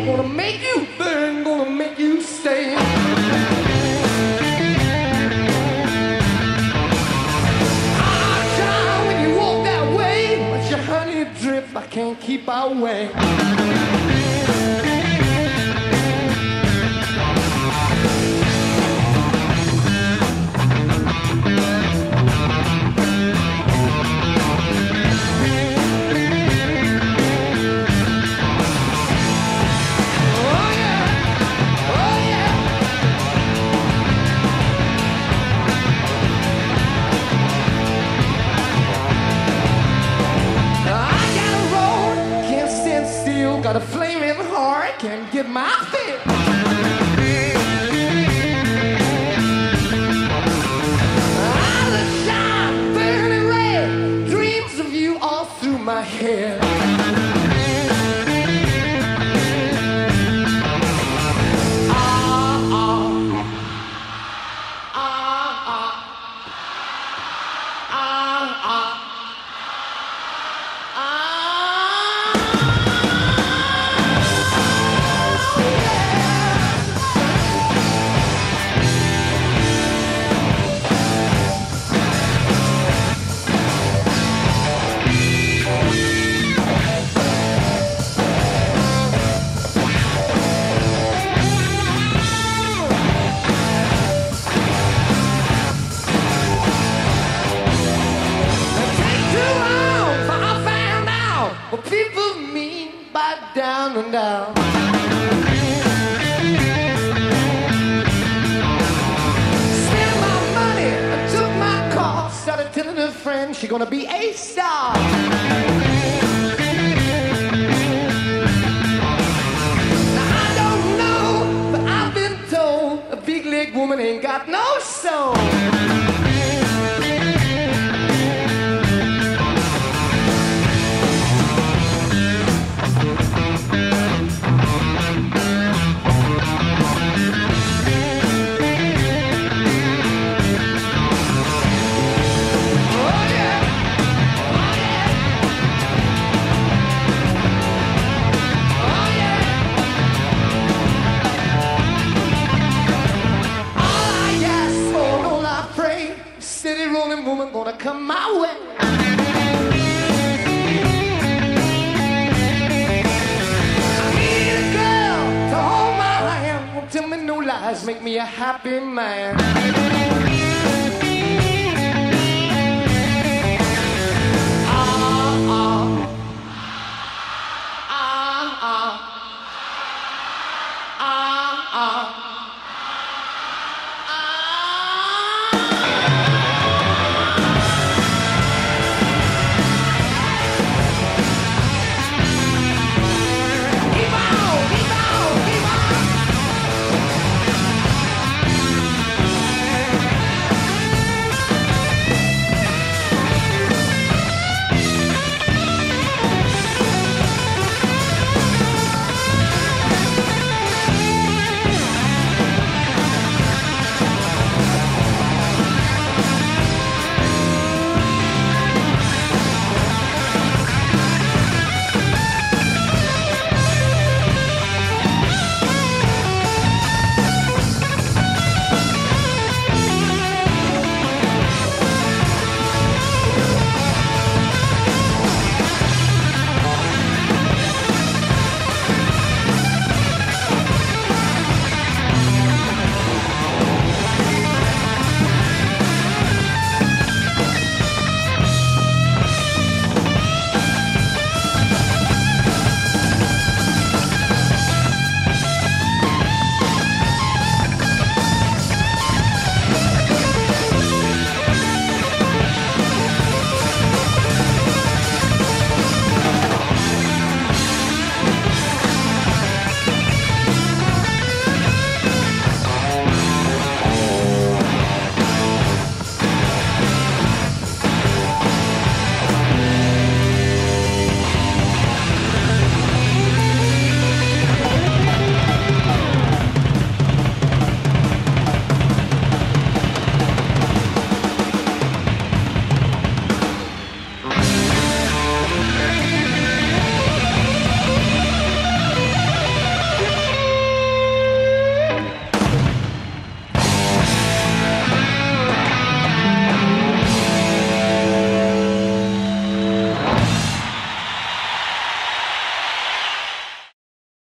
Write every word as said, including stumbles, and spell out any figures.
gonna make you burn, gonna make you stay. Ah, child, when you walk that way, but your honey drip, I can't keep away. Got a flaming heart, can't get my fill. Eyes that shine, burning red, dreams of you all through my head. Ah, ah, ah, ah, ah, ah. What people mean by down and down. Spent my money, I took my car, started telling her friends she's gonna be a star. Now I don't know, but I've been told a big leg woman ain't got no soul. Steady rolling woman gonna come my way. I need a girl to hold my hand. Won't tell me no lies, make me a happy man.